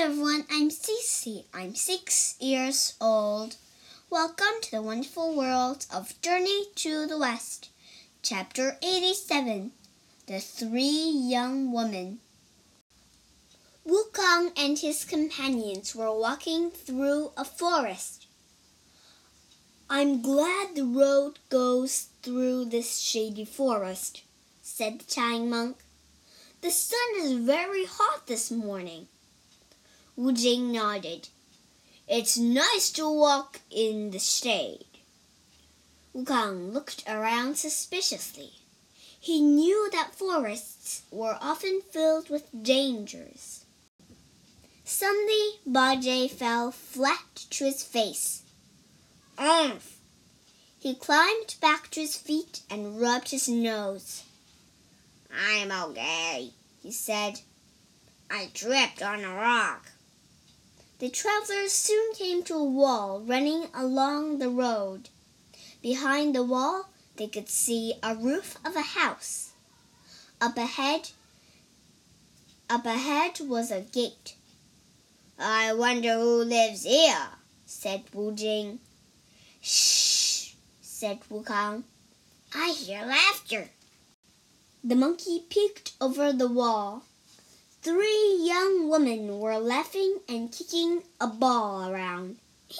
everyone, I'm Cece. I'm 6 years old. Welcome to the wonderful world of Journey to the West. Chapter 87, The Three Young Women. Wukong and his companions were walking through a forest. "I'm glad the road goes through this shady forest," said the Tang monk. "The sun is very hot this morning." Wu Jing nodded. "It's nice to walk in the shade." Wukong looked around suspiciously. He knew that forests were often filled with dangers. Suddenly, Bajie fell flat to his face. "Umph!" He climbed back to his feet and rubbed his nose. "I'm okay," he said. "I tripped on a rock." The travelers soon came to a wall running along the road. Behind the wall, they could see a roof of a house. Up ahead was a gate. "I wonder who lives here," said Wu Jing. "Shh," said Wukong. "I hear laughter." The monkey peeked over the wall. 3 young women were laughing and kicking a ball around.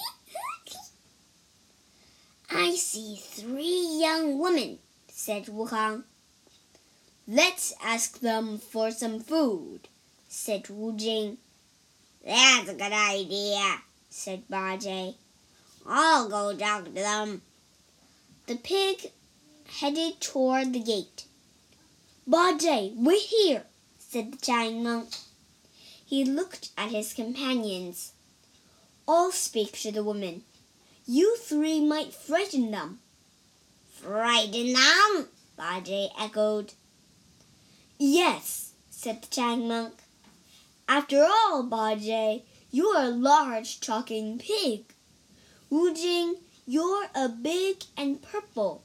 "I see 3 young women," said Wukong. "Let's ask them for some food," said Wu Jing. "That's a good idea," said Bajie. "I'll go talk to them." The pig headed toward the gate. "Bajie, wait here," said the Tang monk. He looked at his companions. "I'll speak to the women. You 3 might frighten them." "Frighten them?" Bajie echoed. "Yes," said the Tang monk. "After all, Bajie, you're a large talking pig. Wu Jing, you're a big and purple.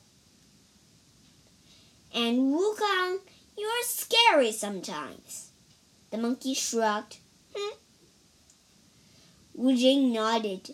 And Wukong, you're scary sometimes." The monkey shrugged. Wu Jing nodded.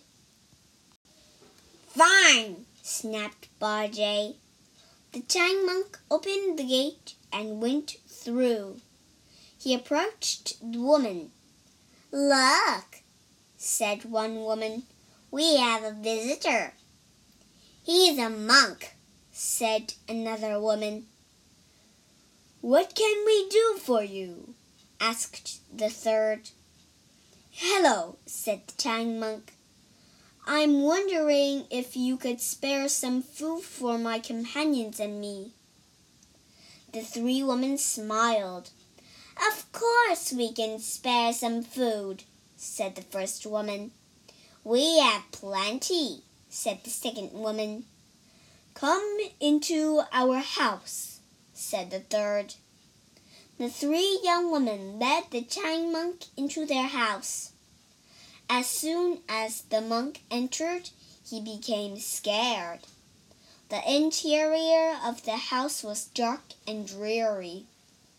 "Fine," snapped Bajie. The Tang monk opened the gate and went through. He approached the woman. "Look," said one woman, "we have a visitor." "He's a monk," said another woman. "What can we do for you?" asked the third. "Hello," said the Tang monk. "I'm wondering if you could spare some food for my companions and me." The 3 women smiled. "Of course we can spare some food," said the first woman. "We have plenty," said the second woman. "Come into our house," said the third. The 3 young women led the Tang monk into their house. As soon as the monk entered, he became scared. The interior of the house was dark and dreary.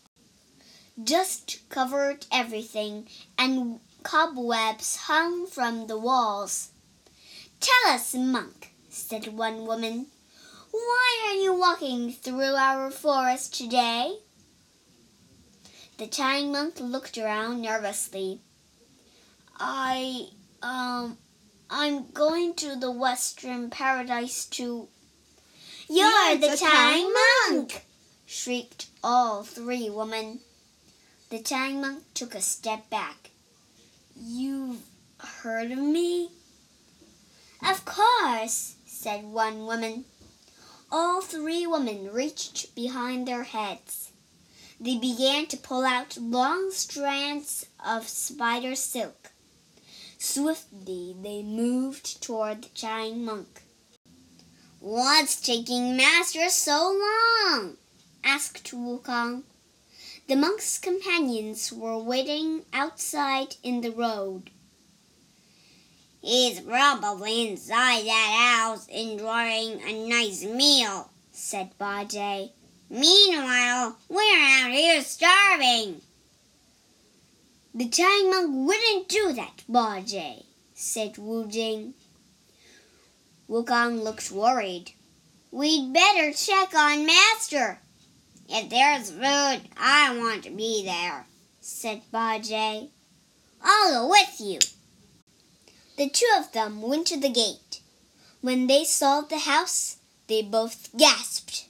Dust covered everything, and cobwebs hung from the walls. "Tell us, monk," said one woman, "why are you walking through our forest today?" The Tang monk looked around nervously. I'm going to the Western Paradise to—" "You're the Tang monk!" shrieked all 3 women. The Tang monk took a step back. "You've heard of me?" "Of course," said one woman. All 3 women reached behind their heads. They began to pull out long strands of spider silk. Swiftly they moved toward the Tang monk. "What's taking Master so long?" asked Wukong. The monk's companions were waiting outside in the road. "He's probably inside that house enjoying a nice meal," said Bajie. "Meanwhile, we're out here starving." The Chinese monk wouldn't do that, Bajie, said Wu Jing. Wukong looked worried. We'd better check on Master. If there's food, I want to be there, said Bajie. I'll go with you. The two of them went to the gate. When they saw the house, they both gasped.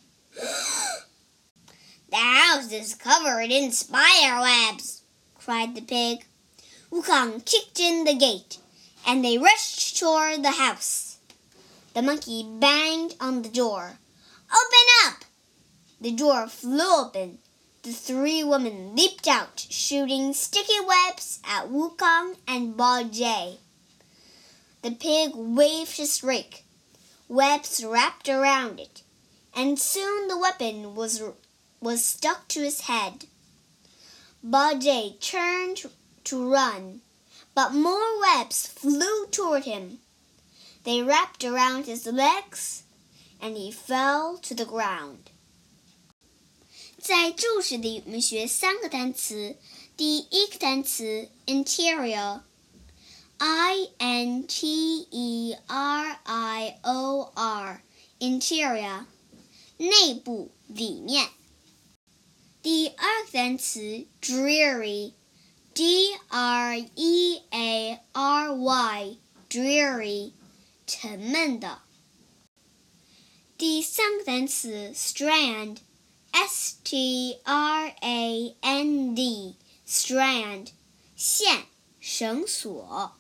The house is covered in spider webs, cried the pig. Wukong kicked in the gate, and they rushed toward the house. The monkey banged on the door. Open up! The door flew open. The three women leaped out, shooting sticky webs at Wukong and Bajie. The pig waved his rake. Webs wrapped around it, and soon the weapon was stuck to his head. Bajie turned to run, but more webs flew toward him. They wrapped around his legs, and he fell to the ground. 在注释里，我们学3个单词。第一个单词 interior， I-N-T-E-R-I-O-R interior， 内部里面。第二个单词 dreary， D-R-E-A-R-Y dreary， 沉闷的。第三个单词 strand， S-T-R-A-N-D strand， 线，绳索。